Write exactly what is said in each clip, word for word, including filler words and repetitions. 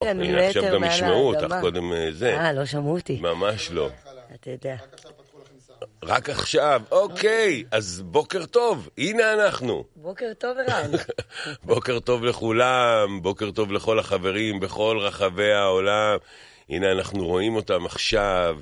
הנה עכשיו גם ישמעו אותך, קודם זה. אה, לא שמעו אותי. ממש לא. אתה יודע. רק עכשיו, אוקיי, אז בוקר טוב, הנה אנחנו. בוקר טוב ערן. בוקר טוב לכולם, בוקר טוב לכל החברים בכל רחבי העולם. הנה אנחנו רואים אותם עכשיו,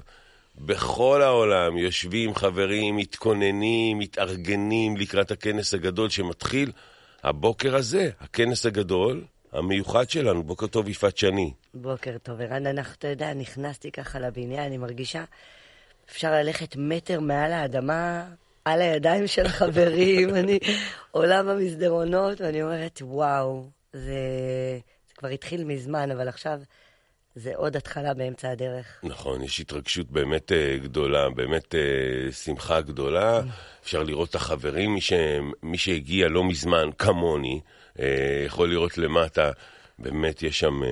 בכל העולם יושבים חברים, מתכוננים, מתארגנים לקראת הכנס הגדול שמתחיל הבוקר הזה, הכנס הגדול המיוחד שלנו. בוקר טוב יפעת שני. בוקר טוב ערן, אנחנו, אתה יודע, נכנסתי ככה לבניין, אני מרגישה אפשר ללכת מטר מעל האדמה, על הידיים של חברים, אני עולה במסדרונות, ואני אומרת, וואו, זה, זה כבר התחיל מזמן, אבל עכשיו זה עוד התחלה באמצע הדרך. נכון, יש התרגשות באמת uh, גדולה, באמת uh, שמחה גדולה, אפשר לראות את החברים, מי, ש... מי שהגיע לא מזמן, כמוני, uh, יכול לראות למטה, באמת יש שם,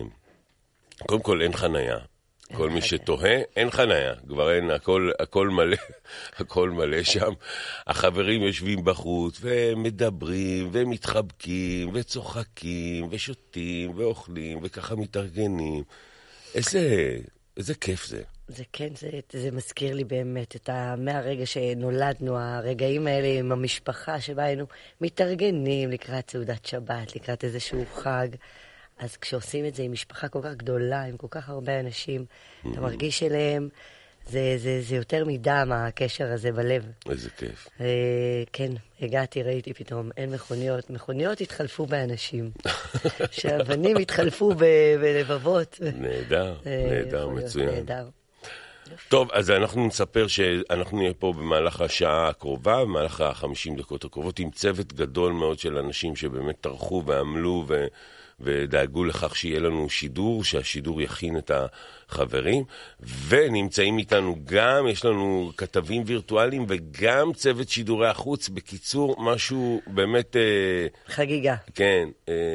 uh, קודם כל אין חנייה. כל מי שתוהה, אין חנייה, כבר אין, הכל, הכל מלא, הכל מלא שם. החברים יושבים בחוץ ומדברים ומתחבקים וצוחקים ושותים ואוכלים וככה מתארגנים. איזה, איזה כיף זה. זה כן, זה, זה מזכיר לי באמת את ה... מהרגע שנולדנו, הרגעים האלה עם המשפחה שבה היינו מתארגנים לקראת סעודת שבת, לקראת איזשהו חג. אז כשעושים את זה עם משפחה כל כך גדולה, עם כל כך הרבה אנשים, mm-hmm. אתה מרגיש אליהם, זה, זה, זה יותר מדם, הקשר הזה בלב. איזה כיף. אה, כן, הגעתי, ראיתי פתאום, אין מכוניות. מכוניות התחלפו באנשים. שהבנים התחלפו ב- בלבבות. נהדר, אה, נהדר, מצוין. נהדר. טוב, אז אנחנו נספר שאנחנו נהיה פה במהלך השעה הקרובה, במהלך החמישים דקות הקרובות, עם צוות גדול מאוד של אנשים שבאמת טרחו ועמלו ו... ודאגו לכך שיהיה לנו שידור, שהשידור יכין את החברים, ונמצאים איתנו גם, יש לנו כתבים וירטואליים, וגם צוות שידורי החוץ, בקיצור, משהו באמת... חגיגה. כן,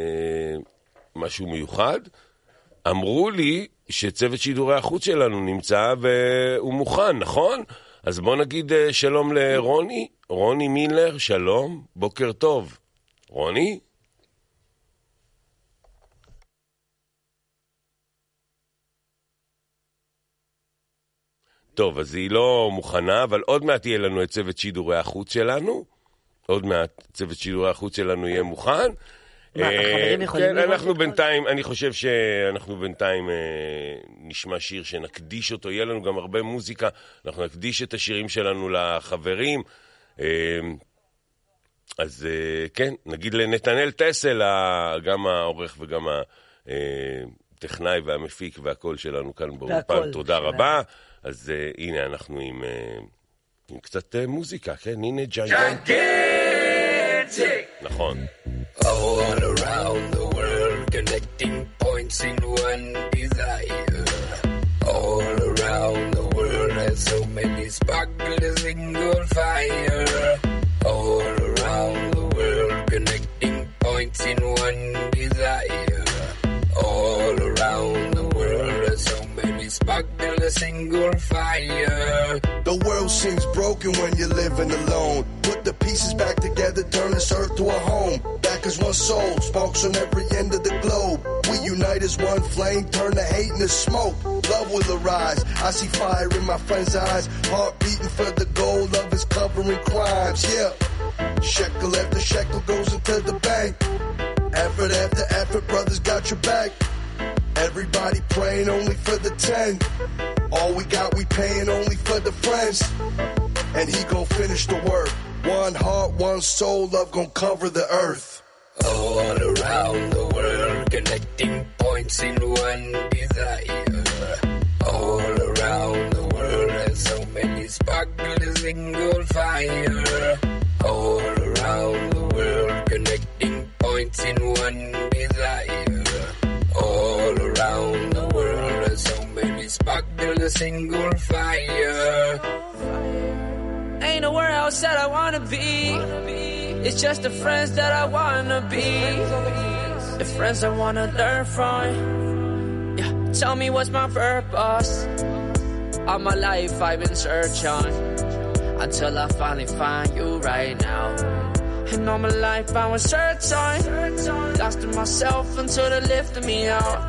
משהו מיוחד. אמרו לי שצוות שידורי החוץ שלנו נמצא והוא מוכן, נכון? אז בוא נגיד שלום לרוני, רוני מילר, שלום, בוקר טוב. רוני? טוב, אז היא לא מוכנה, אבל עוד מעט יהיה לנו את צוות שידורי החוץ שלנו. עוד מעט צוות שידורי החוץ שלנו יהיה מוכן. מה, החברים יכולים כן, אנחנו בינתיים, אני חושב שאנחנו בינתיים נשמע שיר שנקדיש אותו. יהיה לנו גם הרבה מוזיקה. אנחנו נקדיש את השירים שלנו לחברים. אז כן, נגיד לנתנאל טסל, גם העורך וגם הטכנאי והמפיק והכל שלנו כאן באולפן. תודה רבה. אז uh, הנה אנחנו עם, uh, עם קצת uh, מוזיקה, כן? הנה ג'יינטק. נכון. All around the world connecting points in one desire. All around the world there's so many sparkles single fire. All around the world connecting points in one desire. All around the world there's so many sparkle a single fire. The world seems broken when you're living alone. Put the pieces back together, turn this earth to a home. Back as one soul, sparks on every end of the globe. We unite as one flame, turn the hate into smoke. Love will arise, I see fire in my friend's eyes. Heart beating for the goal, love is covering crimes, yeah. Shekel after shekel goes into the bank. Effort after effort, brothers got your back. Everybody praying only for the ten. All we got, we paying only for the friends. And he gon' finish the work. One heart, one soul, love gon' cover the earth. All around the world, connecting points in one desire. All around the world, there's so many sparkles, single fire. All around the world, connecting points in one desire. All around the world, there's so many sparkles, a single fire. Ain't nowhere else that I wanna be. It's just the friends that I wanna be. The friends I wanna learn from. Yeah, tell me what's my purpose. All my life I've been searching until I finally find you right now. And all my life I was searching, lost in myself until they lifted me out.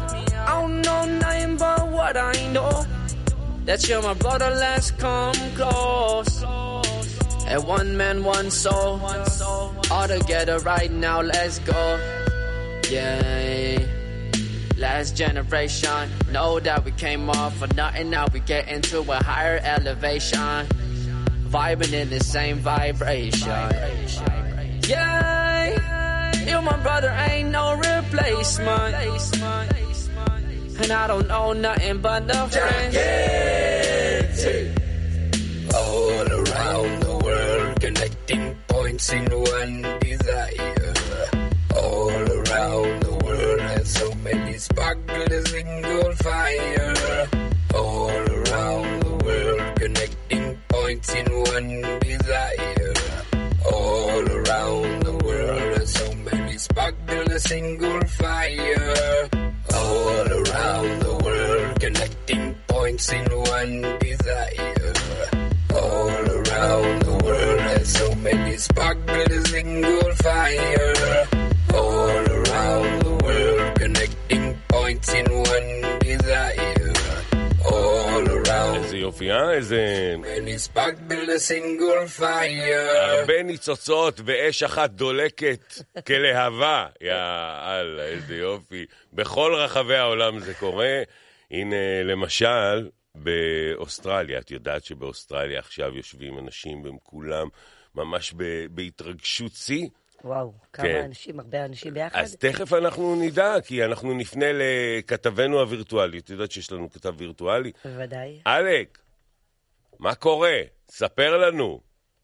I don't know nothing but what I know. That you're my brother, let's come close. And one man, one soul. All together right now, let's go. Yeah. Last generation. Know that we came off for nothing. Now we get into a higher elevation. Vibing in the same vibration. Yeah. You my brother, ain't no replacement. And I don't know nothing but the friends. All around the world, connecting points in one desire. All around the world, there's so many sparklers single fire. All around the world, connecting points in one desire. All around the world, there's so many sparklers single fire. All around the world, connecting points in one desire. All around the world, there's so many sparklers single fire. All around the world, connecting points in one desire. All around. איזה יופי, אה? איזה... many sparklers single fire. הרבה ניצוצות ואש אחת דולקת כלהבה. יאללה, איזה יופי. בכל רחבי העולם זה קורה. הנה, למשל, באוסטרליה. את יודעת שבאוסטרליה עכשיו יושבים אנשים והם כולם ממש בהתרגשות שיא. וואו, כמה כן. אנשים, הרבה אנשים ביחד. אז תכף אנחנו נדע, כי אנחנו נפנה לכתבנו הווירטואלי. את יודעת שיש לנו כתב וירטואלי? בוודאי. אלק, מה קורה? ספר לנו.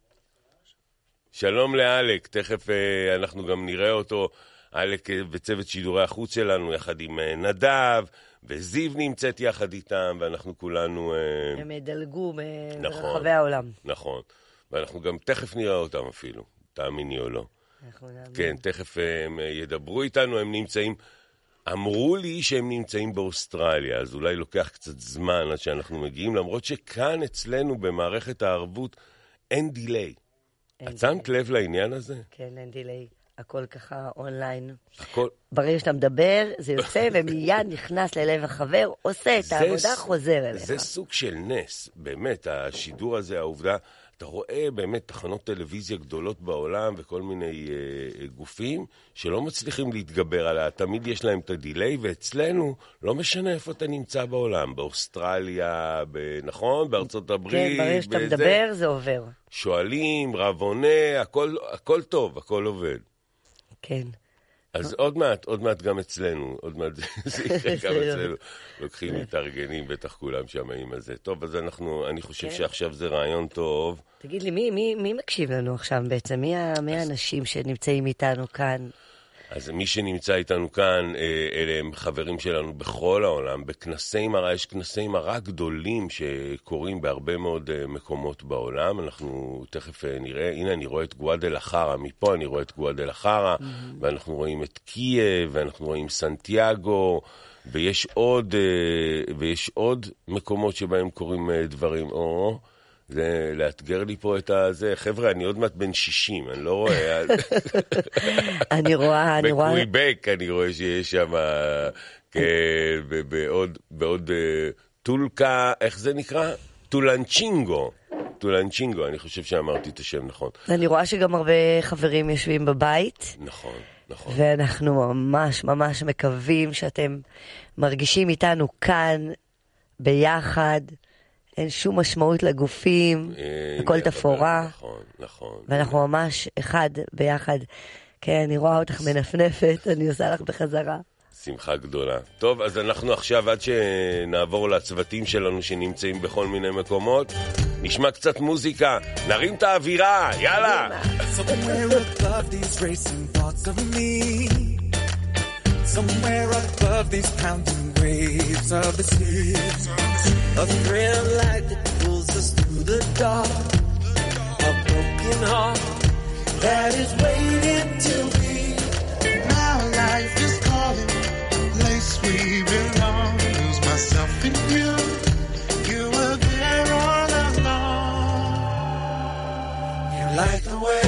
שלום לאלק, תכף uh, אנחנו גם נראה אותו, אלק וצוות שידורי החוץ שלנו, יחד עם uh, נדב, וזיו נמצאת יחד איתם, ואנחנו כולנו... Uh... הם דלגו נכון, ברחבי העולם. נכון, ואנחנו גם תכף נראה אותם אפילו, תאמיני או לא. כן, תכף הם ידברו איתנו, הם נמצאים, אמרו לי שהם נמצאים באוסטרליה, אז אולי לוקח קצת זמן עד שאנחנו מגיעים, למרות שכאן אצלנו במערכת הערבות אין דיליי. את שמת לב לעניין הזה? כן, אין דיליי. הכל ככה אונליין. הכל... ברגע שאתה מדבר, זה יוצא ומיד נכנס ללב החבר, עושה את העבודה, חוזר אליך. זה סוג של נס, באמת, השידור הזה, העובדה, אתה רואה באמת תחנות טלוויזיה גדולות בעולם וכל מיני אה, גופים שלא מצליחים להתגבר עליה, תמיד יש להם את הדיליי, ואצלנו לא משנה איפה אתה נמצא בעולם, באוסטרליה, ב... נכון? בארצות הברית. כן, ברגע שאתה בזה, מדבר זה עובר. שואלים, רב עונה, הכל, הכל טוב, הכל עובד. כן. אז עוד מעט, עוד מעט גם אצלנו, עוד מעט זה יקרה גם אצלנו. לוקחים מתארגנים, בטח כולם שמעים על זה. טוב, אז אנחנו, אני חושב שעכשיו זה רעיון טוב. תגיד לי, מי, מי, מי מקשיב לנו עכשיו בעצם? מי האנשים שנמצאים איתנו כאן? אז מי שנמצא איתנו כאן, אלה הם חברים שלנו בכל העולם, בכנסי מראה, יש כנסי מראה גדולים שקורים בהרבה מאוד מקומות בעולם, אנחנו תכף נראה, הנה אני רואה את גואדלחרה, מפה אני רואה את גואדלחרה, mm-hmm. ואנחנו רואים את קייב, ואנחנו רואים סנטיאגו, ויש עוד, ויש עוד מקומות שבהם קורים דברים, או... זה לאתגר לי פה את הזה. חבר'ה, אני עוד מעט בן שישים, אני לא רואה. אני רואה, אני רואה. בקוויבק אני רואה שיש שם, בעוד, בעוד טולקה, איך זה נקרא? טולנצ'ינגו. טולנצ'ינגו, אני חושב שאמרתי את השם נכון. אני רואה שגם הרבה חברים יושבים בבית. נכון, נכון. ואנחנו ממש ממש מקווים שאתם מרגישים איתנו כאן, ביחד. אין שום משמעות לגופים, הכל תפורה. נכון, נכון. ואנחנו ממש אחד ביחד. כן, אני רואה אותך מנפנפת, אני עושה לך בחזרה. שמחה גדולה. טוב, אז אנחנו עכשיו, עד שנעבור לצוותים שלנו שנמצאים בכל מיני מקומות, נשמע קצת מוזיקה, נרים את האווירה, יאללה! Somewhere above these pounding waves of the sea, a thread of light that pulls us through the dark, a broken heart that is waiting to be. Now life is calling, the place we belong. Lose myself in you, you were there all along. You light the way,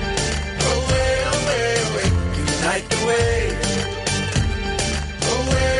away, away, away. You light the way. Away,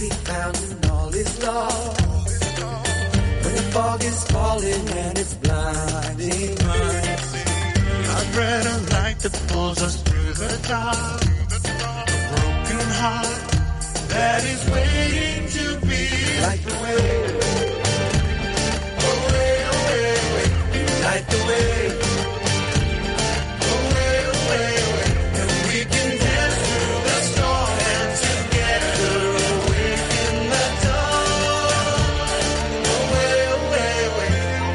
be found and all is lost. When the fog is falling and it's blinding light, I'd rather light that pulls us through the dark. A broken heart that is waiting to be light the way, away, away, away, light the way, away, away, away. and we can dance through the storm and together awake in the dawn. Away, away, away.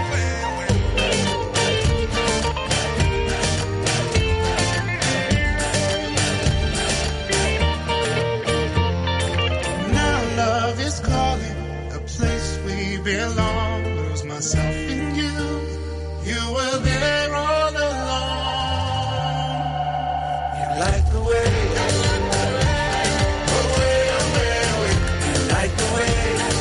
Now love is calling, a place we belong. Lose myself in you. You were there all along. You light the way, Away, away, away. you light the way,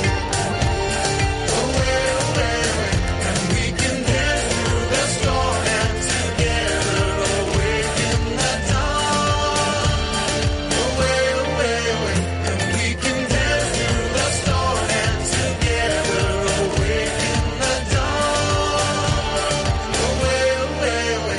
Away, away, away. and we can dance through the storm and together awake in the dawn. Away, away, away. And we can dance through the storm and together awake in the dawn. Away, away, away.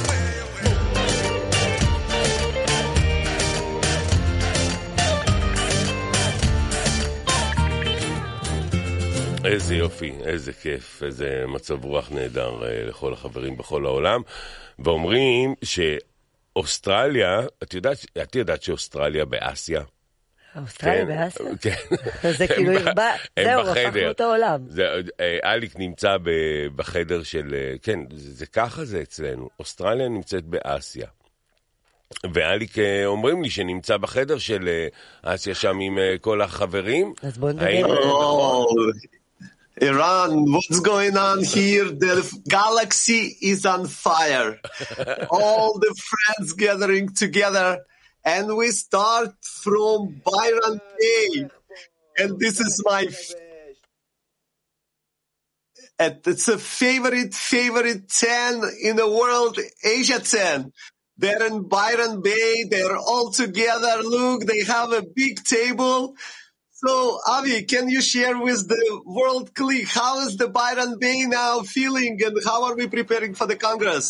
איזה יופי, איזה כיף, איזה מצב רוח נהדר אה, לכל החברים בכל העולם. ואומרים שאוסטרליה, את יודעת, את יודעת שאוסטרליה באסיה? אוסטרליה באסיה? כן. זה כאילו הם ב- הרבה, הם זהו, בחדר. הפכנו את העולם. זה, אה, אליק נמצא ב- בחדר של, אה, כן, זה, זה ככה זה אצלנו. אוסטרליה נמצאת באסיה. ואליק אה, אומרים לי שנמצא בחדר של אה, אסיה שם עם אה, כל החברים. אז בואו נדבר. האם- Oh, Iran, what's going on here? The galaxy is on fire. All the friends gathering together, and we start from Byron Bay. And this is my f- and it's a favorite, favorite ten in the world, Asia ten. They're in Byron Bay. They're all together. Look, they have a big table. So, Avi, can you share with the world clique, how is the Byron Bay now feeling and how are we preparing for the Congress?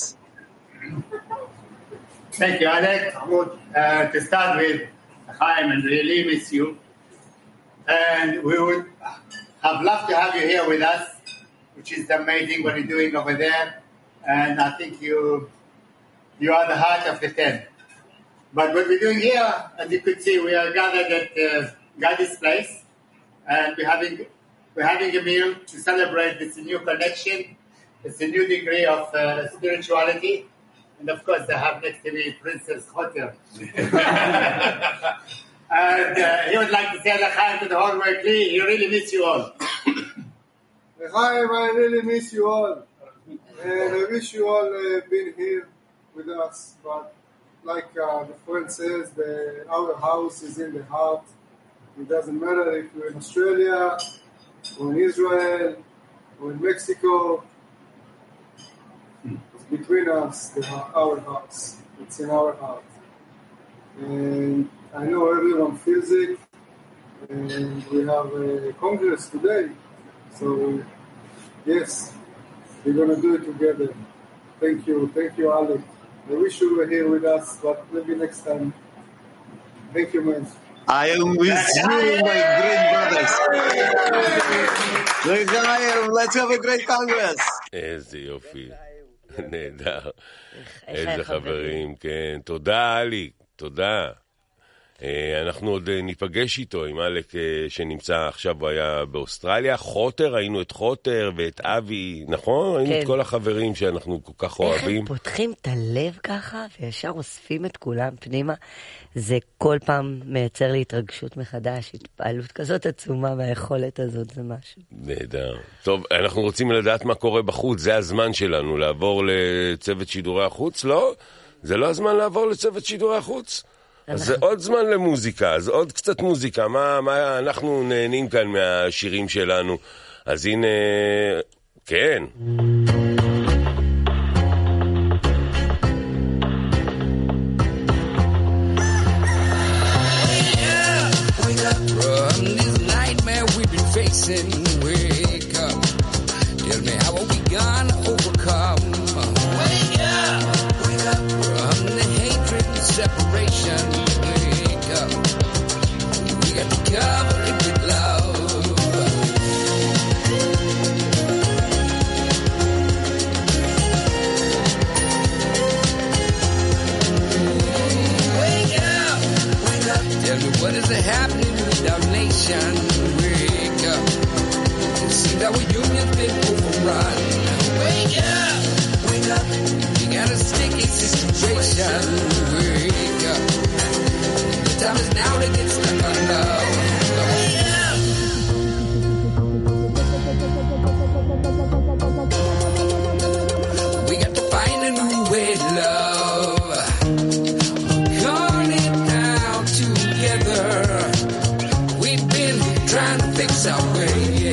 Thank you, Alex. Good. Uh, to start with, Chaim, and really miss you. And we would have loved to have you here with us, which is amazing what you're doing over there. And I think you you are the heart of the ten. But what we're doing here, as you could see, we are gathered at uh, Gadi's place, and we're having we're having a meal to celebrate this new connection, this new degree of uh, spirituality. And of course, I have next to me Princess Hotel. And uh, he would like to say L'chaim to the whole world. He really miss you all. Chaim, I really miss you all. And I wish you all uh, been here with us. But like uh, the friend says, the, our house is in the heart. It doesn't matter if you're in Australia, or in Israel, or in Mexico. It's between us, the, our hearts. It's in our heart. And I know everyone feels it. And we have a Congress today. So, yes, we're going to do it together. Thank you. Thank you, Alec. I wish you were here with us, but maybe next time. Thank you, man. I am with you, my great brothers. Let's have a great Congress. איזה יופי, נהדר, איזה חברים, כן, תודה אליק, תודה. אנחנו עוד ניפגש איתו עם אלק שנמצא עכשיו, הוא היה באוסטרליה, חוטר, ראינו את חוטר ואת אבי, נכון? ראינו את כל החברים שאנחנו כל כך אוהבים. איך הם פותחים את הלב ככה וישר אוספים את כולם פנימה, זה כל פעם מייצר לי התרגשות מחדש, התפעלות כזאת עצומה מהיכולת הזאת, זה משהו. נהדר. טוב, אנחנו רוצים לדעת מה קורה בחוץ, זה הזמן שלנו לעבור לצוות שידורי החוץ, לא? זה לא הזמן לעבור לצוות שידורי החוץ? אז זה עוד זמן למוזיקה, אז עוד קצת מוזיקה, מה, מה אנחנו נהנים כאן מהשירים שלנו, אז הנה, כן. Run sun. Wake up. The time is now to get stuck on love. We got to find a new way to love. Calling it now together. We've been trying to fix our way.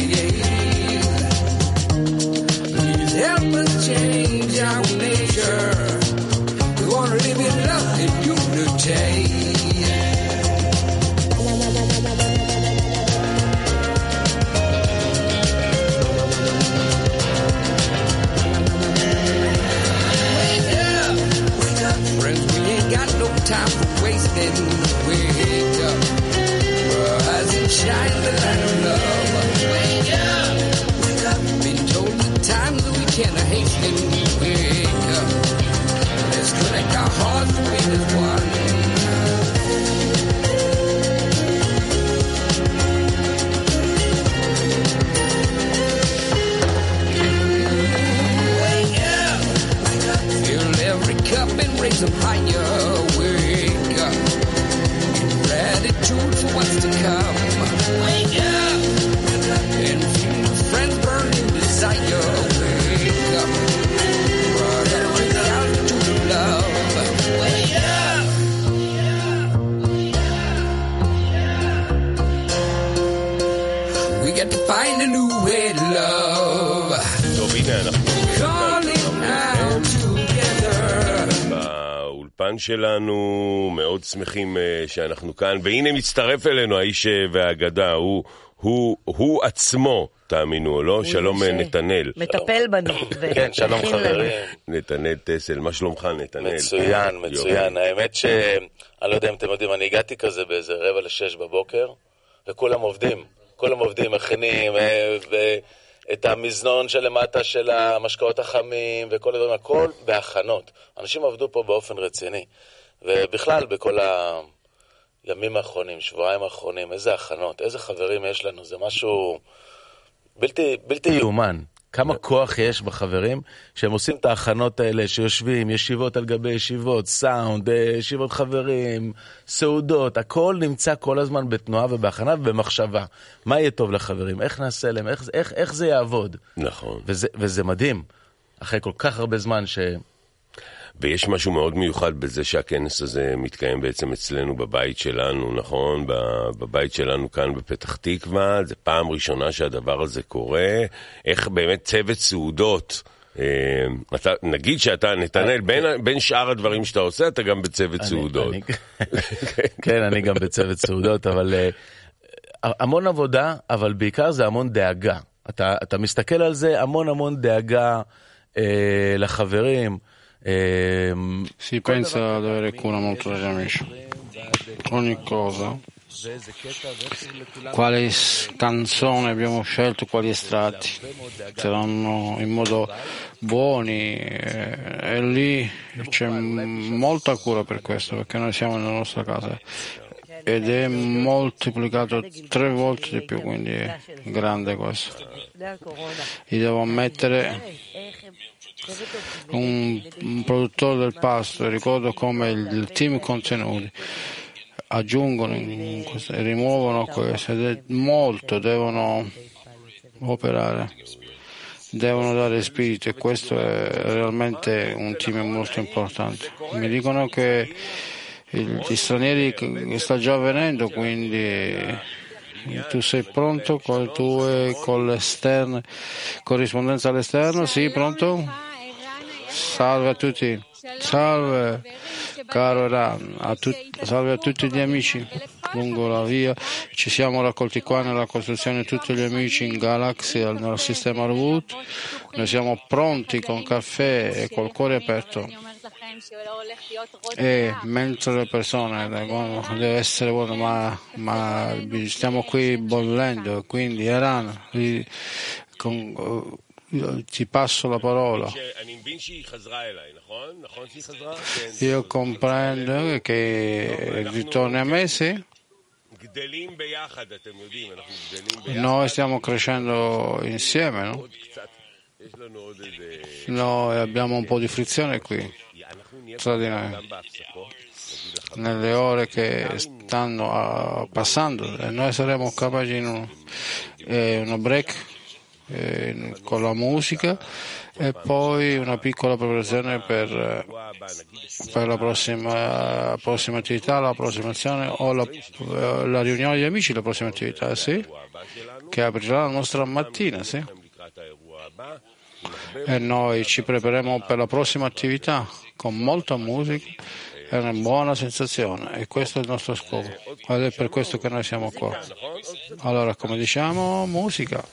Please help us change our nature. We want to live in love and unity. Time for wasting. Wake up, rise and shine the light of love. Wake up, wake up. Been told the times that we can't hasten. Wake up, let's connect our hearts to be as one. Wake up, wake up. Fill every cup and raise them higher. Gratitude for what's to come. Wake up, and feel the friends burning desire. Wake up, run out to the love. Wake up, we got to find a new way to love. Calling out together. באולפן שלנו, מאוד שמחים שאנחנו כאן, והנה מצטרף אלינו האיש והאגדה, הוא, הוא, הוא עצמו, תאמינו או לא, שלום נתנאל. מטפל בנו. כן, שלום חברים. נתנאל טסל, מה שלומך נתנאל? מצוין, מצוין. האמת ש... אני לא יודע אם אתם יודעים, אני הגעתי כזה באיזה רבע לשש בבוקר, וכולם עובדים, כולם עובדים, מכינים, ו... את המזנון שלמטה של המשקאות החמים וכל הדברים, הכל בהכנות. אנשים עבדו פה באופן רציני. ובכלל, בכל הימים האחרונים, שבועיים האחרונים, איזה הכנות, איזה חברים יש לנו, זה משהו בלתי, בלתי יאומן. כמה כוח יש בחברים שהם עושים את ההכנות האלה, שיושבים, ישיבות על גבי ישיבות, סאונד, ישיבות חברים, סעודות, הכל נמצא כל הזמן בתנועה ובהכנה ובמחשבה. מה יהיה טוב לחברים? איך נעשה להם? איך, איך, איך זה יעבוד? נכון. וזה, וזה מדהים. אחרי כל כך הרבה זמן ש... ויש משהו מאוד מיוחד בזה שהכנס הזה מתקיים בעצם אצלנו בבית שלנו, נכון? בבית שלנו כאן בפתח תקווה, זה פעם ראשונה שהדבר הזה קורה. איך באמת צוות סעודות, אה, אתה, נגיד שאתה, נתנאל, בין, בין שאר הדברים שאתה עושה, אתה גם בצוות אני, סעודות. אני, כן, אני גם בצוות סעודות, אבל אה, המון עבודה, אבל בעיקר זה המון דאגה. אתה, אתה מסתכל על זה, המון המון דאגה אה, לחברים, Si pensa ad avere cura molto degli amici, ogni cosa, quali canzoni abbiamo scelto, quali estratti saranno in modo buoni, e lì c'è molta cura per questo, perché noi siamo nella nostra casa ed è moltiplicato tre volte di più, quindi è grande questo. Io devo ammettere, un, un produttore del pasto, ricordo come il team contenuti aggiungono in questo, rimuovono questo, ed è molto, devono operare, devono dare spirito, e questo è realmente un team molto importante. Mi dicono che gli stranieri sta già avvenendo, quindi tu sei pronto con le tue con l'esterno, corrispondenza all'esterno? Sì, pronto? Salve a tutti, salve caro Ran, a tut- salve a tutti gli amici lungo la via. Ci siamo raccolti qua nella costruzione, tutti gli amici in Galaxy, nel sistema Root. Noi siamo pronti con caffè e col cuore aperto. E mentre le persone deve essere buono, ma, ma stiamo qui bollendo, quindi Eran, con, ti passo la parola. Io comprendo che ritorni a me, sì. Noi stiamo crescendo insieme, no? Noi abbiamo un po' di frizione qui. tra di noi. Nelle ore che stanno uh, passando, e noi saremo capaci in un, eh, una break eh, con la musica e poi una piccola preparazione per, per la prossima, prossima attività, la prossima azione o la, la riunione degli amici, la prossima attività, sì, che aprirà la nostra mattina, sì. E noi ci prepareremo per la prossima attività con molta musica. È una buona sensazione e questo è il nostro scopo ed è per questo che noi siamo qua. Allora, come diciamo, musica.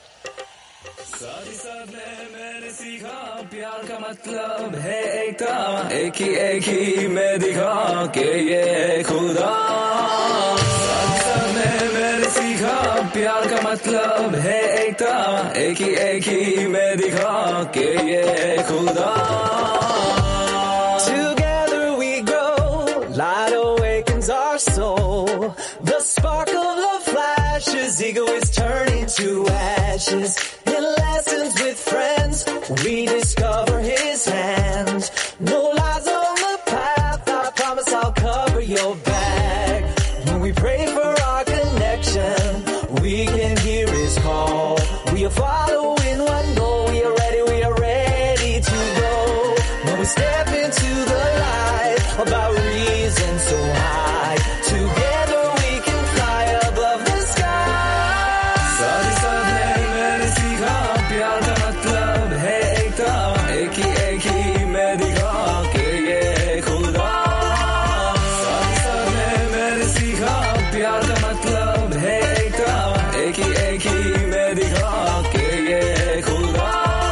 Light awakens our soul. The spark of love flashes. Ego is turning to ashes. In lessons with friends, we discover his hand. No lies on the path. I promise I'll cover your back. When we pray for our connection, we can hear his call. We are following one goal. We are ready, we are ready to go. When we step into the light about reason so high, together we can fly above the sky. Sadi sad hai mere sikha pyar ka matlab hai ekta, ek hi ek hi main dikha ke ye khuda. Sadi sad hai mere sikha pyar ka matlab hai ekta, ek hi ek hi main dikha ke ye khuda.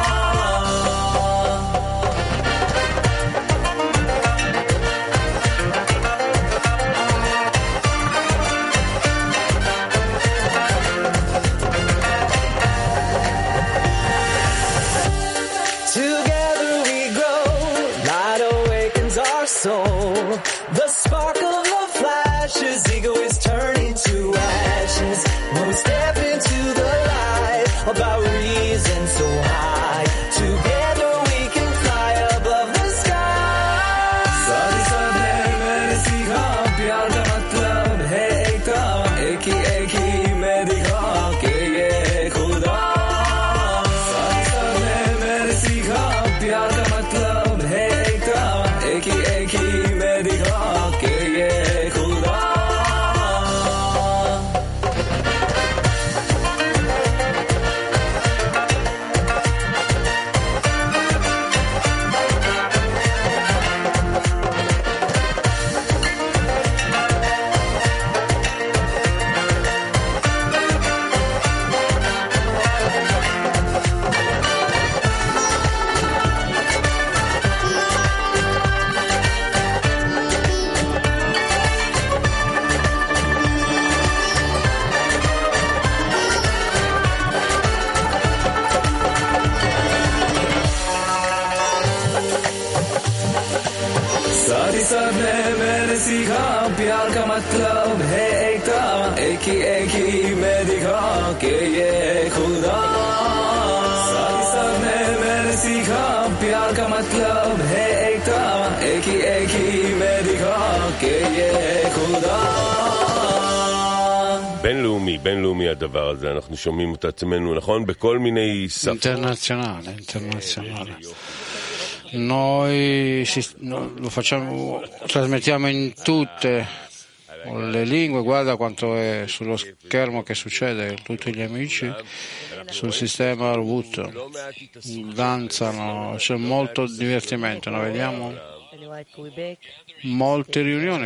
Soul. The spark of love flashes, ego is turning to ashes. When we step into the light, about reason so high, together we can fly above the sky. Sadi sad hai maine sikha pyar ka matlab hai ekta, ek hi ek hi main dikha ke ye khuda. Sadi sad hai maine sikha pyar ka matlab hai ekta, ek hi ek hi main dikha ke ye khuda. सारी सब ने मैंने सीखा प्यार का मतलब है एकता, एक ही एक ही मैं दिखा के ये खुदा. सारी सब ने मैंने सीखा प्यार का मतलब है एकता, एक ही एक ही मैं दिखा के ये खुदा. בינלאומי, בינלאומי הדבר הזה, אנחנו שומעים את עצמנו, נכון? בכל מיני שפות. Internazionale, internazionale. Noi si, no, lo facciamo, trasmettiamo in tutte le lingue, guarda quanto è sullo schermo che succede, tutti gli amici sul sistema Arvut danzano, c'è molto divertimento, noi vediamo molte riunioni.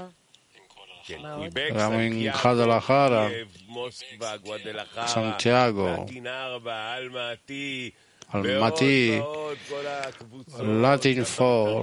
Eravamo in Guadalajara, Santiago, Almaty, Latin Four,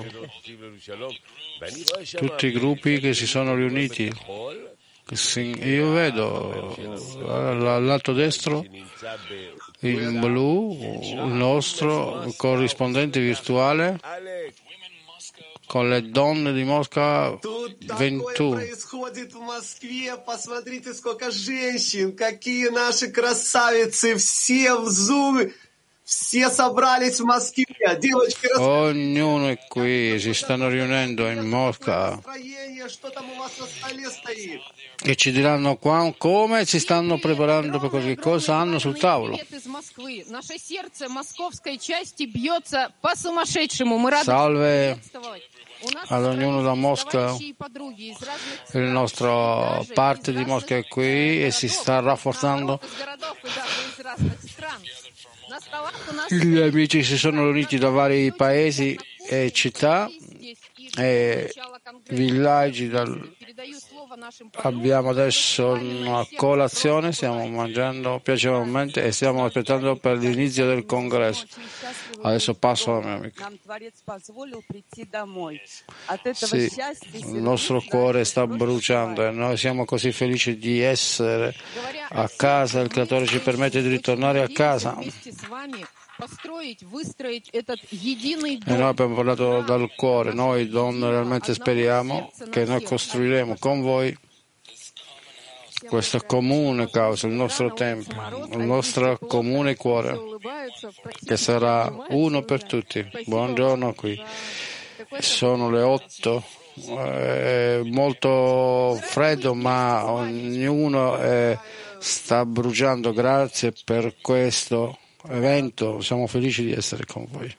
tutti i gruppi che si sono riuniti. Io vedo al lato destro in blu il nostro corrispondente virtuale con le donne di Mosca ventuno. Происходит в Москве. Посмотрите, сколько женщин, какие наши красавицы, все в зуме. Все собрались в Москве. Девочки, Ognuno è qui, si stanno riunendo in Mosca настроение, что там у вас на столе стоит? e ci diranno qua come si stanno preparando per qualche cosa hanno sul tavolo. Salve ad ognuno da Mosca, la nostra parte di Mosca è qui e si sta rafforzando. Gli amici si sono riuniti da vari paesi e città e villaggi. Dal... Abbiamo adesso una colazione, stiamo mangiando piacevolmente e stiamo aspettando per l'inizio del congresso. Adesso passo alla mia amica. Sì, il nostro cuore sta bruciando e noi siamo così felici di essere a casa. Il Creatore ci permette di ritornare a casa. E noi abbiamo parlato dal cuore, noi donne realmente speriamo che noi costruiremo con voi questa comune causa, il nostro tempio, il nostro comune cuore, che sarà uno per tutti. Buongiorno qui. Sono le otto, è molto freddo, ma ognuno è, sta bruciando. Grazie per questo evento, siamo felici di essere con voi.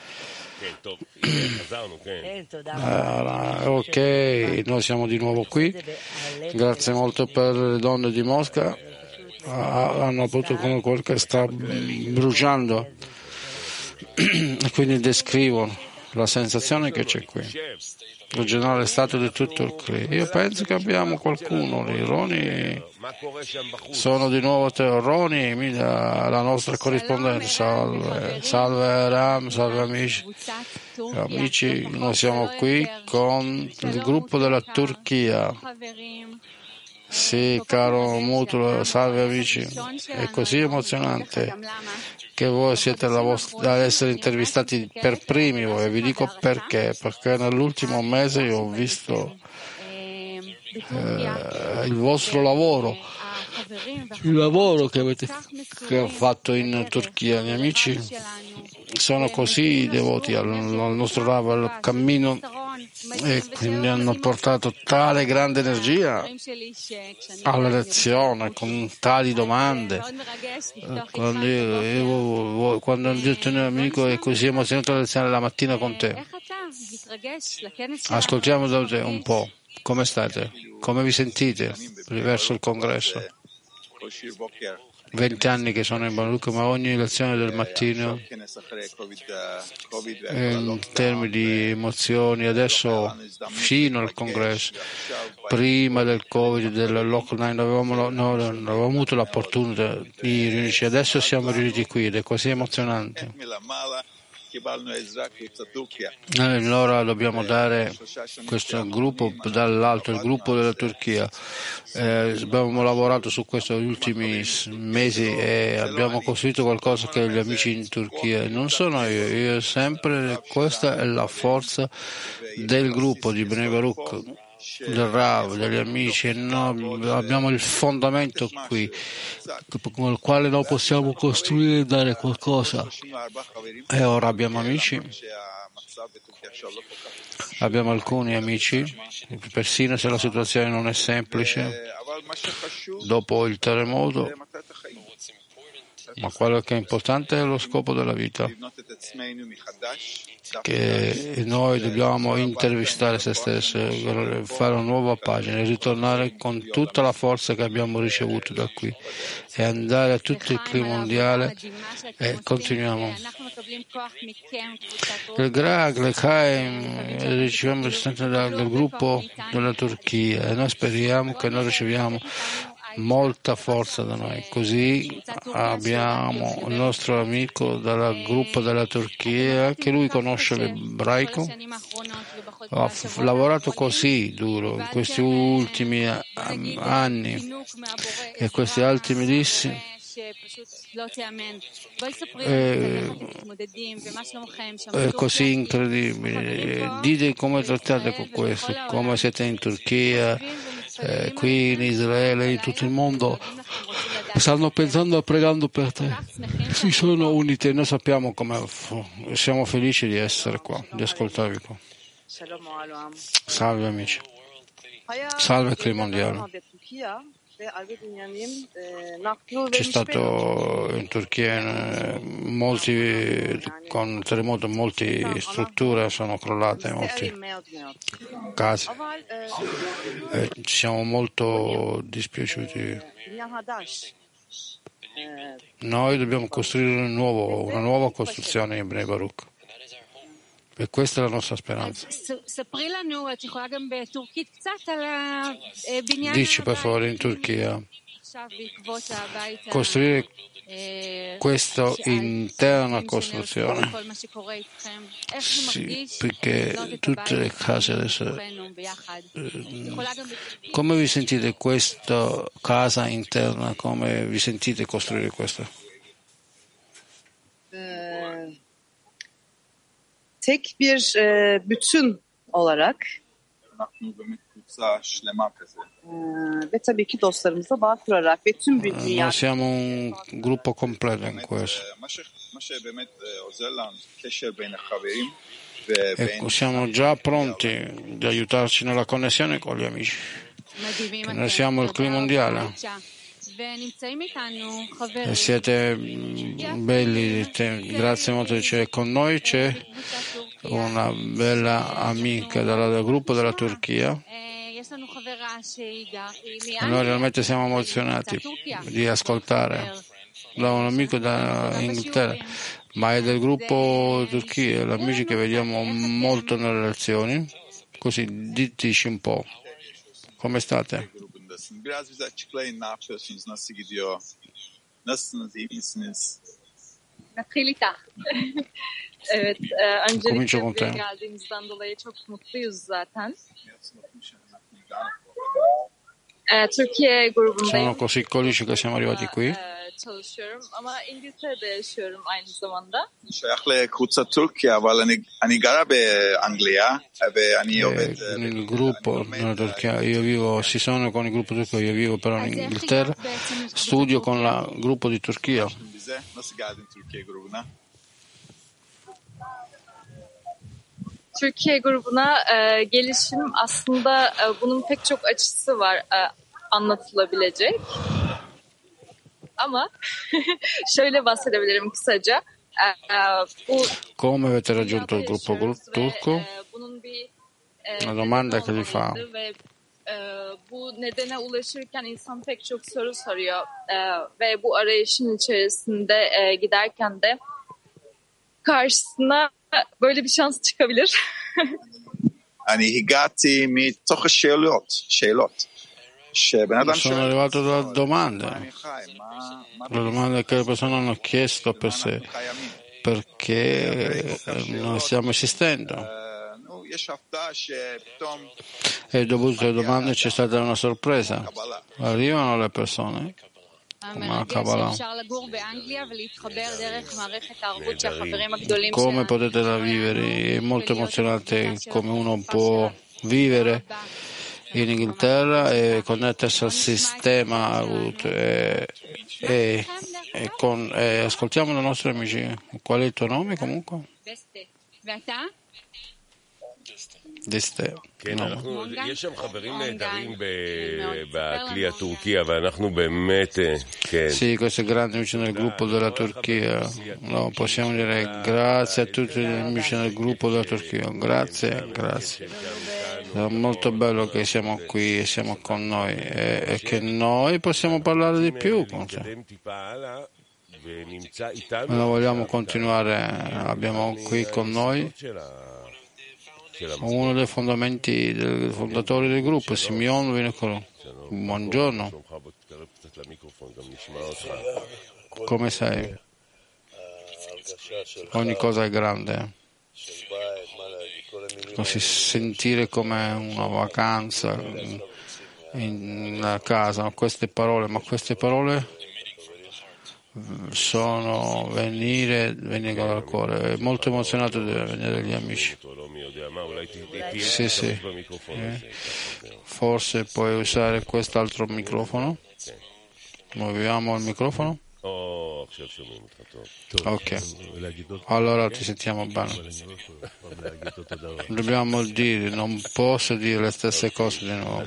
Uh, ok, noi siamo di nuovo qui. Grazie molto per le donne di Mosca. Uh, hanno avuto come quel che sta bruciando e quindi descrivono la sensazione che c'è qui. Il generale stato di tutto il C R I. Io penso che abbiamo qualcuno lì. Roni, sono di nuovo te. Roni, la nostra corrispondente. Salve, salve Ram, salve amici. Amici, noi siamo qui con il gruppo della Turchia. Sì, caro Mutulo, salve amici. È così emozionante che voi siete la vostra, ad essere intervistati per primi voi, e vi dico perché, perché nell'ultimo mese io ho visto eh, il vostro lavoro, il lavoro che avete che ho fatto in Turchia. Gli amici sono così devoti al, al nostro lavoro, al cammino, e quindi hanno portato tale grande energia alla lezione con tali domande. Quando io, io, quando ho detto mio amico è così emozionato la lezione la mattina con te, ascoltiamo da te un po'. Come state? Come vi sentite verso il congresso? Venti anni che sono in Baruch, ma ogni lezione del mattino in termini di emozioni, adesso fino al congresso, prima del Covid, del lockdown, avevamo, no, non avevamo avuto l'opportunità di riunirci, adesso siamo riuniti qui ed è così emozionante. Allora dobbiamo dare questo gruppo dall'alto, il gruppo della Turchia. Eh, abbiamo lavorato su questo negli ultimi mesi e abbiamo costruito qualcosa che gli amici in Turchia non sono io, io sempre, questa è la forza del gruppo di Bnei Baruch, del Rav, degli amici, e noi abbiamo il fondamento qui con il quale noi possiamo costruire e dare qualcosa. E ora abbiamo amici, abbiamo alcuni amici, persino se la situazione non è semplice dopo il terremoto, ma quello che è importante è lo scopo della vita, che noi dobbiamo intervistare se stessi, fare una nuova pagina, ritornare con tutta la forza che abbiamo ricevuto da qui e andare a tutto il clima mondiale e continuiamo. Il Grag, le Chaim, riceviamo dal, dal gruppo della Turchia e noi speriamo che noi riceviamo molta forza da noi. Così abbiamo il nostro amico dal gruppo della Turchia, che lui conosce l'ebraico, ha f- lavorato così duro in questi ultimi anni e questi ultimi dissi. È, è così incredibile. Dite come trattate con questo, come siete in Turchia, eh, qui in Israele, in tutto il mondo. stanno pensando e pregando per te. Si sono uniti e noi sappiamo come siamo felici di essere qua, di ascoltarvi qua. Salve amici. Salve Clima Mondiale. C'è stato in Turchia eh, molti con terremoto, molte strutture sono crollate, molte case. Eh, ci siamo molto dispiaciuti. Noi dobbiamo costruire un nuovo, una nuova costruzione in Bnei Baruch. E questa è la nostra speranza. Dici per favore in Turchia, costruire questa interna costruzione. Sì, perché tutte le case adesso... Come vi sentite questa casa interna? Come vi sentite costruire questa? Tek bir e, bütün olarak e, ve tabii ki dostlarımızla bağ kurarak ve tüm bir dünya. Noi siamo un gruppo completo in questo. Ecco, siamo già pronti di aiutarci nella connessione con gli amici. Che noi siamo il Clima Mondiale. E siete belli, grazie molto di essere con noi. C'è una bella amica dal gruppo della Turchia e noi realmente siamo emozionati di ascoltare da un amico dall'Inghilterra, ma è del gruppo Turchia, gli amici che vediamo molto nelle relazioni. Così diteci un po' come state. Biraz bize açıklayın, ne yapıyorsunuz, nasıl gidiyor, nasılsınız, iyi misiniz? Natalita. Evet, e, öncelikle buraya geldiğimizden dolayı çok mutluyuz zaten. E, Türkiye grubundayım. Sono così felici che siamo arrivati qui. Çalışıyorum ama İngiltere'de yaşıyorum aynı zamanda. שייך לקבוצת טורקיה, אבל אני, אני גרה באנגליה ואני עובד... Il gruppo nella Turchia, io vivo, si sono con il gruppo turco, io vivo però in Inghilterra, studio con il gruppo di Turchia. Nasıl geldin Türkiye grubuna? Türkiye grubuna e, gelişim aslında e, bunun pek çok açısı var e, anlatılabilecek. Ama şöyle bahsedebilirim kısaca. E, bu Come avete raggiunto il gruppo turco? Bunun bir e, Una domanda che gli fa. Ve, e, bu nedene ulaşırken insan pek çok soru soruyor e, ve bu arayışın içerisinde e, giderken de karşısına böyle bir şans çıkabilir. אני הגעתי מתוך השאלות, שאלות. Sono arrivato dalla domanda, la domanda che le persone hanno chiesto per sé, perché noi stiamo esistendo. E dopo tutte le domande c'è stata una sorpresa. Arrivano le persone come Kabbalah. Come potete la vivere? È molto emozionante come uno può vivere in Inghilterra e connettersi al sistema e, e, e, con, e ascoltiamo i nostri amici. Qual è il tuo nome comunque? Deste. כן, אנחנו, יש שם חברים נהדרים בכלי הטורקי, אבל אנחנו באמת, כן. Sì, questi grandi amici nel gruppo della Turchia. No, possiamo dire grazie a tutti gli amici nel gruppo della Turchia. Grazie, grazie. È molto bello che siamo qui e siamo con noi e, e che noi possiamo parlare di più con te. Noi vogliamo continuare, abbiamo qui con noi uno dei fondamenti, dei fondatori del gruppo, Simeon Vinocolo. Buongiorno. Come sei? Ogni cosa è grande. Così sentire come una vacanza in una casa, queste parole, ma queste parole sono venire, venire dal cuore. È molto emozionato di venire dagli amici. Sì, sì. Eh. Forse puoi usare quest'altro microfono. Muoviamo il microfono. Oh, ok, allora ti sentiamo bene. Dobbiamo dire, non posso dire le stesse cose di nuovo.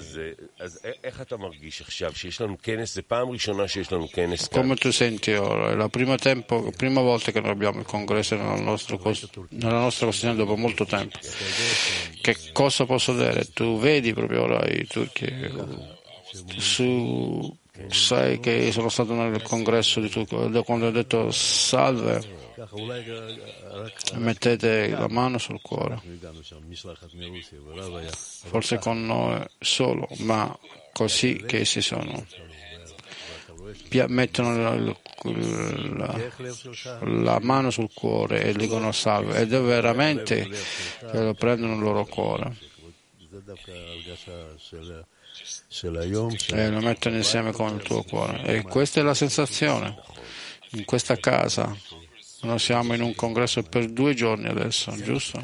Come tu senti ora? È la prima, tempo, prima volta che noi abbiamo il congresso nella nostra, nella nostra questione dopo molto tempo. Che cosa posso dire? Tu vedi proprio ora i turchi su... Sai che sono stato nel congresso di Turco quando ho detto salve, mettete la mano sul cuore, forse con noi solo, ma così che si sono, mettono la, la, la mano sul cuore e dicono salve, ed è veramente che lo prendono il loro cuore e lo mettono insieme con il tuo cuore. E questa è la sensazione. In questa casa noi siamo in un congresso per due giorni adesso, giusto?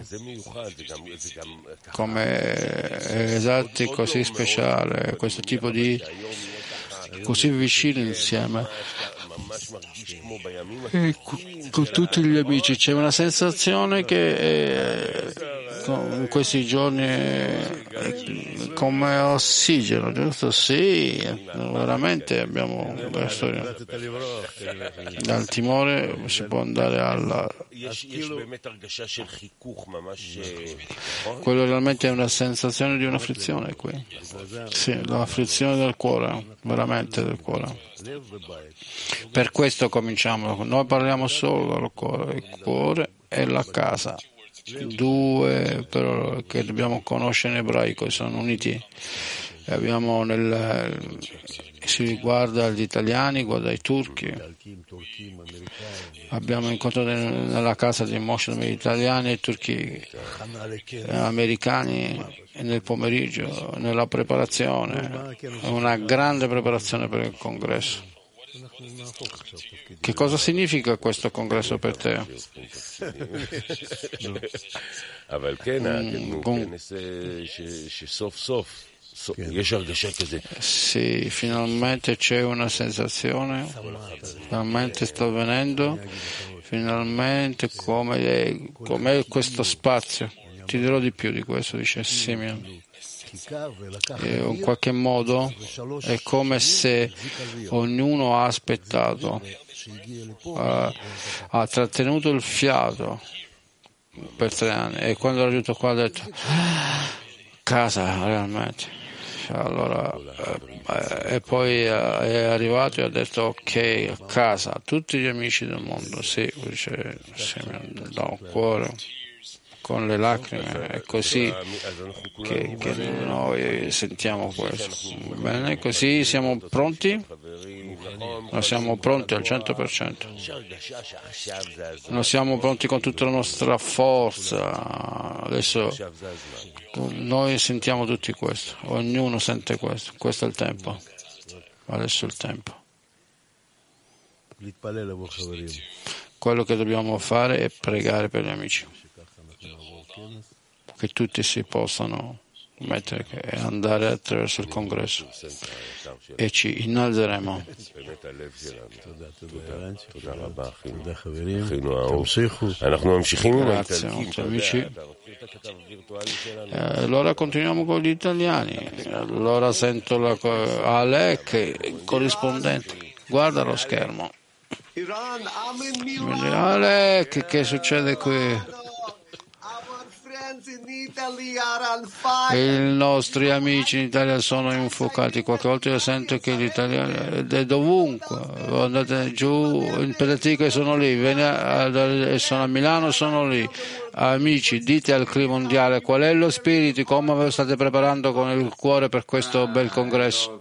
Come esatti, così speciale, questo tipo di così vicini insieme. E con tutti gli amici c'è una sensazione che è, in questi giorni è come ossigeno, giusto? Sì, veramente abbiamo una storia. Dal timore si può andare alla... Quello realmente è una sensazione di un'afflizione qui. Sì, l'afflizione del cuore, veramente del cuore. Per questo cominciamo, noi parliamo solo del cuore, il cuore e la casa, due però che dobbiamo conoscere in ebraico, sono uniti. Abbiamo nel, si guarda gli italiani, guarda i turchi, abbiamo incontrato nella casa di Moshe gli italiani e i turchi americani nel pomeriggio, nella preparazione, una grande preparazione per il congresso. Che cosa significa questo congresso per te? Mm, con... Sì, finalmente c'è una sensazione, finalmente sta avvenendo, finalmente come, come questo spazio. Ti dirò di più di questo, dice Simeon. E in qualche modo è come se ognuno ha aspettato, ha, ha trattenuto il fiato per tre anni e quando ha raggiunto qua ha detto casa realmente. Allora, eh, e poi eh, è arrivato e ha detto ok, a casa, tutti gli amici del mondo, sì, dice, sì, da un cuore, con le lacrime, è così che, che noi sentiamo questo. Bene, così siamo pronti? Noi siamo pronti al cento per cento. Noi siamo pronti con tutta la nostra forza. Adesso noi sentiamo tutti questo, ognuno sente questo, questo è il tempo, adesso è il tempo. Quello che dobbiamo fare è pregare per gli amici, che tutti si possano mettere e andare attraverso il congresso e ci innalzeremo. Grazie, nostri amici. Eh, allora continuiamo con gli italiani. Allora sento la co- Alec, corrispondente. Guarda lo schermo. Alec, che succede qui? I nostri amici in Italia sono infuocati. Qualche volta io sento che gli italiani è dovunque. Andate giù in Pedatico, sono lì, sono a Milano, sono lì. Amici, dite al clima mondiale qual è lo spirito, come ve lo state preparando con il cuore per questo bel congresso.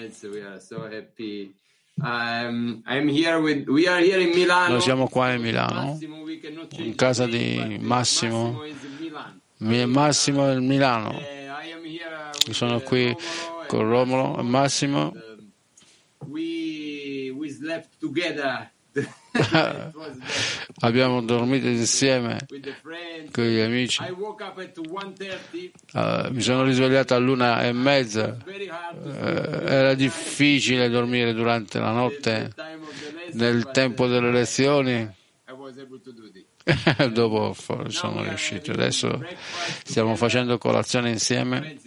Um, I'm here with, we are here in Milano. Noi siamo qua in Milano, in casa di Massimo. Massimo è Milano. Io sono qui con Romolo e Massimo. We, we slept together Abbiamo dormito insieme con gli amici. Uh, mi sono risvegliato all'una e mezza. Uh, era difficile dormire durante la notte nel tempo delle lezioni. Dopo sono riuscito. Adesso stiamo facendo colazione insieme.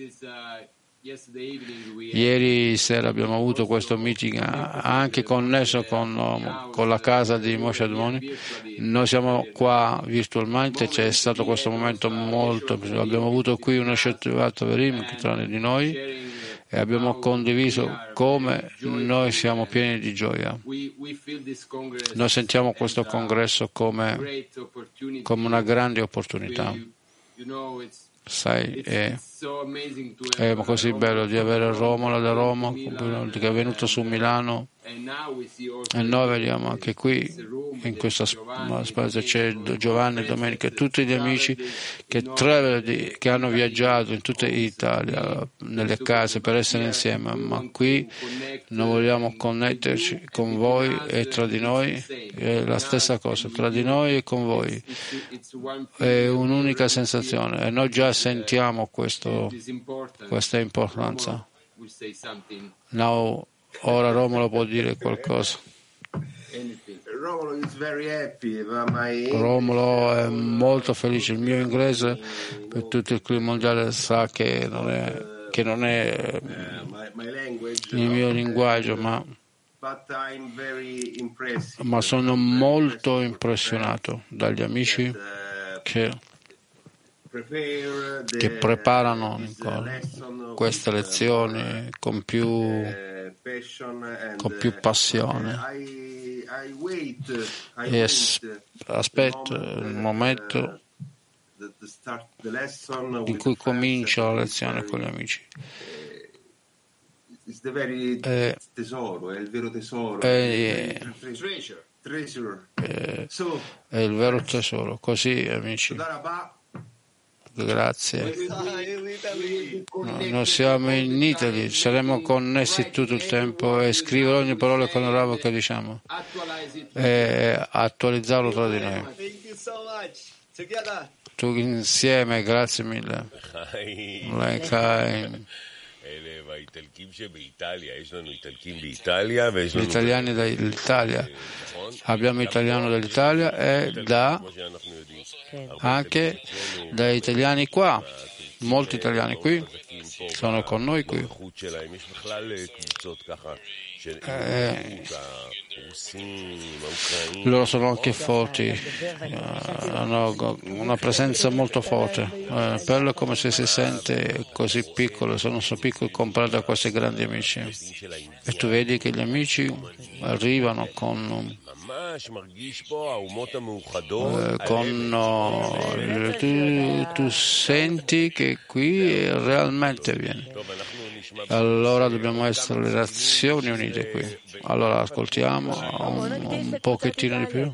Ieri sera abbiamo avuto questo meeting anche connesso con, con la casa di Moshe Admoni. Noi siamo qua virtualmente, c'è stato questo momento molto, abbiamo avuto qui uno Shetvat Verim tra di noi e abbiamo condiviso come noi siamo pieni di gioia. Noi sentiamo questo congresso come, come una grande opportunità. Sai, è, è così bello di avere Romola da Roma che è venuto su Milano e noi vediamo anche qui in questa spazio c'è Giovanni, Domenica e tutti gli amici che, tre, che hanno viaggiato in tutta Italia nelle case per essere insieme, ma qui noi vogliamo connetterci con voi e tra di noi è la stessa cosa, tra di noi e con voi è un'unica sensazione e noi già sentiamo questo, questa importanza. Now, ora Romolo può dire qualcosa. Romolo è molto felice. Il mio inglese per tutto il clima mondiale sa che non è, che non è il mio linguaggio, ma, ma sono molto impressionato dagli amici che, che preparano queste lezioni con più con più passione e aspetto il momento in cui comincio la lezione con gli amici. È, tesoro, è il vero tesoro, è, è, è il vero tesoro. Così, amici. Grazie. Noi siamo in Italia, saremo connessi tutto il tempo e scrivere ogni parola con il ravo che diciamo e attualizzarlo tra di noi. Tu insieme, grazie mille. Gli italiani dall'Italia, abbiamo italiano dall'Italia e da anche dagli italiani qua, molti italiani qui sono con noi qui. Eh, loro sono anche forti, uh, hanno una presenza molto forte. Uh, bello come se si sente così piccolo, sono so piccoli comparato a questi grandi amici. E tu vedi che gli amici arrivano con Uh, con uh, tu, tu senti che qui realmente viene. Allora dobbiamo essere le nazioni unite qui. Allora ascoltiamo un, un pochettino di più.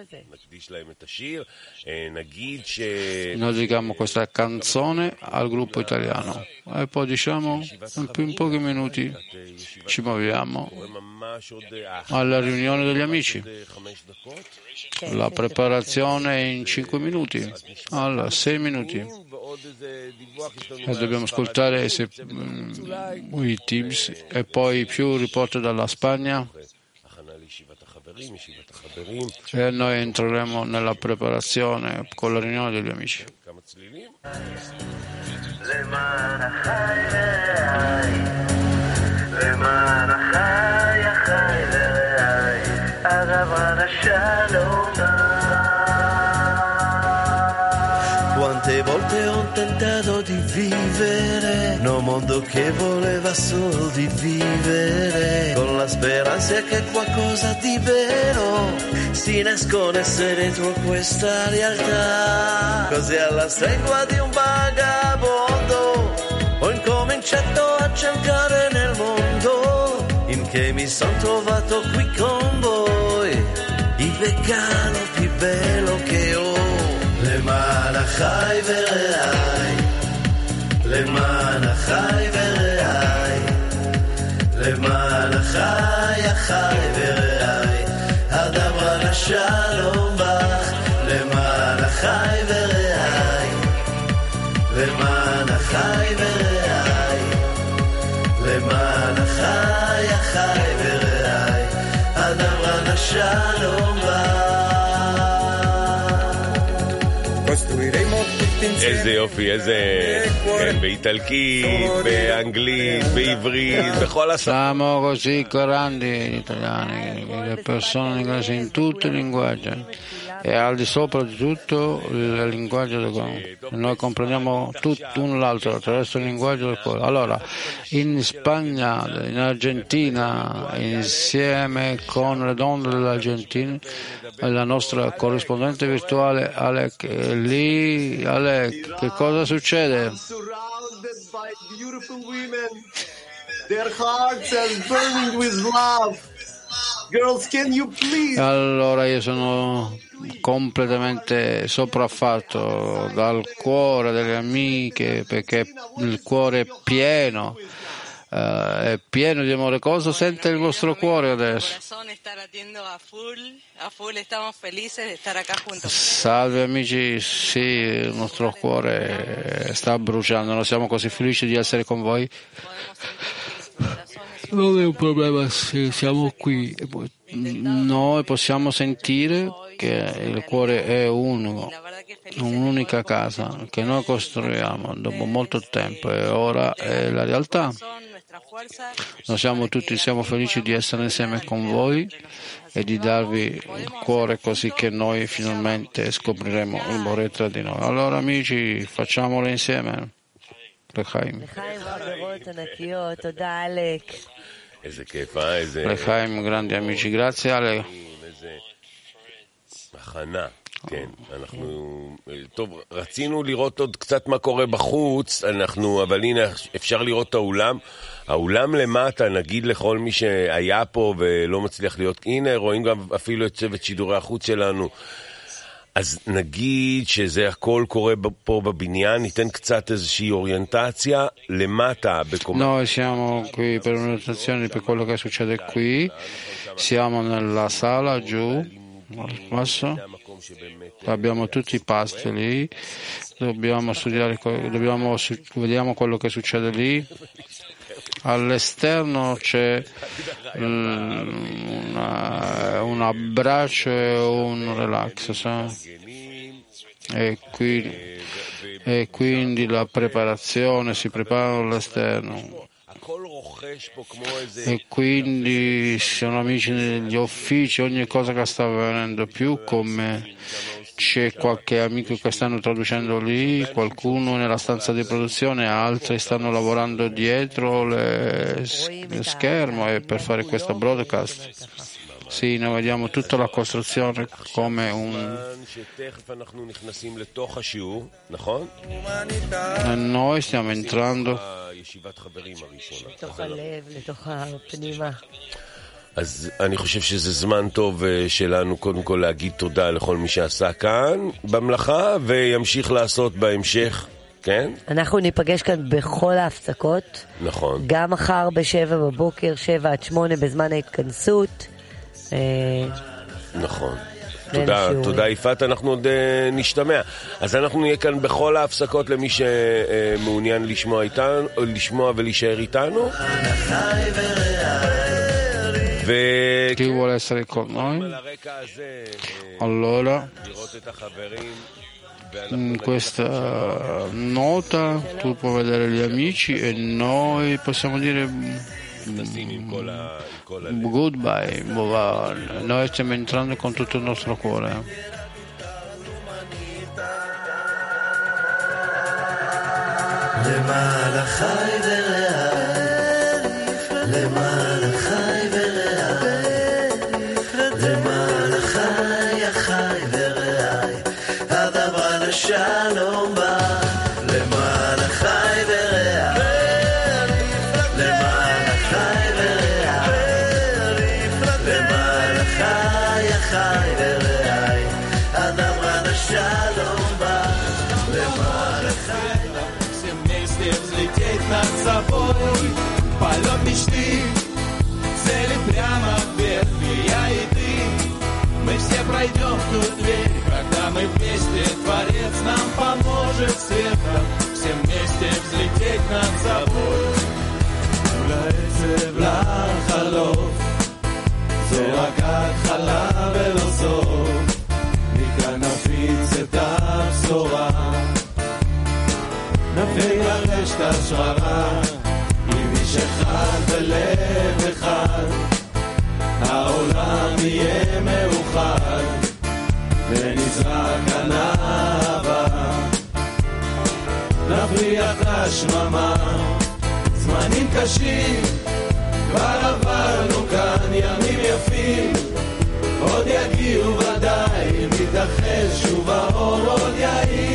Noi diciamo questa canzone al gruppo italiano e poi diciamo in, in pochi minuti ci muoviamo alla riunione degli amici. La preparazione è in cinque minuti, allora sei minuti e dobbiamo ascoltare se, um, i Teams e poi più report dalla Spagna e noi entreremo nella preparazione con la riunione degli amici. Quante volte ho tentato di vivere in un mondo che voleva solo di vivere, con la speranza che qualcosa di vero si nascondesse dentro questa realtà. Così alla stregua di un vagabondo ho incominciato a cercare nel mondo, in che mi son trovato qui con voi, il vegano più bello che ho. למען החי ורעי, למען החי ורעי, למען החי החי ורעי, הדבר אחי ורעי, למען אחי אחי ורעי, אדברה לשלום בא. איזה יופי, איזה... כן, באיטלקית, באנגלית, בעברית, בכל השפות. Siamo così grandi gli italiani, le persone inglesi in tutti i linguaggi e al di sopra di tutto il linguaggio del cuore. Noi comprendiamo tutto un l'altro attraverso il linguaggio del cuore. Allora, in Spagna, in Argentina, insieme con le donne dell'Argentina, la nostra corrispondente virtuale Alec, lì Alec, che cosa succede? Surrounded by beautiful women, their hearts are burning with love. Girls, can you please? Allora io sono completamente sopraffatto dal cuore delle amiche, perché il cuore è pieno, uh, è pieno di amore. Cosa sente il vostro cuore adesso? Salve amici, sì, il nostro cuore sta bruciando, noi siamo così felici di essere con voi. Non è un problema, sì, siamo qui. Noi possiamo sentire che il cuore è unico, un'unica casa che noi costruiamo dopo molto tempo e ora è la realtà. Noi siamo tutti siamo felici di essere insieme con voi e di darvi il cuore così che noi finalmente scopriremo il amore tra di noi. Allora amici, facciamolo insieme. L'Echaim. L'Echaim, grandi amici, grazie Ale. הכנה, כן, אנחנו, טוב, רצינו לראות עוד קצת מה קורה בחוץ, אנחנו, אבל הנה אפשר לראות את האולם, האולם למטה, נגיד לכל מי שהיה פה ולא מצליח להיות, הנה רואים גם אפילו את צוות שידורי החוץ שלנו, אז נגיד שזה הכל קורה פה בבניין, ניתן קצת איזושהי אוריינטציה למטה בקומה. Noi siamo qui per un'orientazione per quello che succede qui, siamo nella sala giù, al basso, abbiamo tutti i pasti lì, dobbiamo studiare, dobbiamo, vediamo quello che succede lì. All'esterno c'è una, un abbraccio e un relax, sa? E, qui, e quindi la preparazione, si prepara all'esterno. E quindi sono amici negli uffici, ogni cosa che sta avvenendo, più come c'è qualche amico che stanno traducendo lì, qualcuno nella stanza di produzione, altri stanno lavorando dietro le, le schermo e per fare questo broadcast. Sì, noi vediamo tutta la costruzione come un... E noi stiamo entrando. אז אני חושב שזה זמן טוב שלנו קודם כל להגיד תודה לכל מי שעשה כאן במלאכה וימשיך לעשות בהמשך, כן? אנחנו ניפגש כאן בכל ההפסקות. נכון. גם מחר בשבע בבוקר, שבע עד שמונה בזמן ההתכנסות. נכון. תודה, תודה יפעת, אנחנו עוד נשתמע. אז אנחנו נהיה כאן בכל ההפסקות למי שמעוניין לשמוע איתנו, לשמוע ולהישאר איתנו. Chi vuole essere con noi? Allora, in questa nota tu puoi vedere gli amici e noi possiamo dire goodbye. Noi stiamo entrando con tutto il nostro cuore. שלום בא למען החי ורעי, למען החי ורעי, למען החי החי ורעי, אדם רן השלום בא למען החי. השמרה, עם איש אחד ולב אחד, העולם יהיה מאוחד, ונזרק ענבה, נפריח לשממה, זמנים קשים, כבר עברנו כאן ימים יפים, עוד יגיעו ודאי, מתאחד שוב האור עוד יעיר.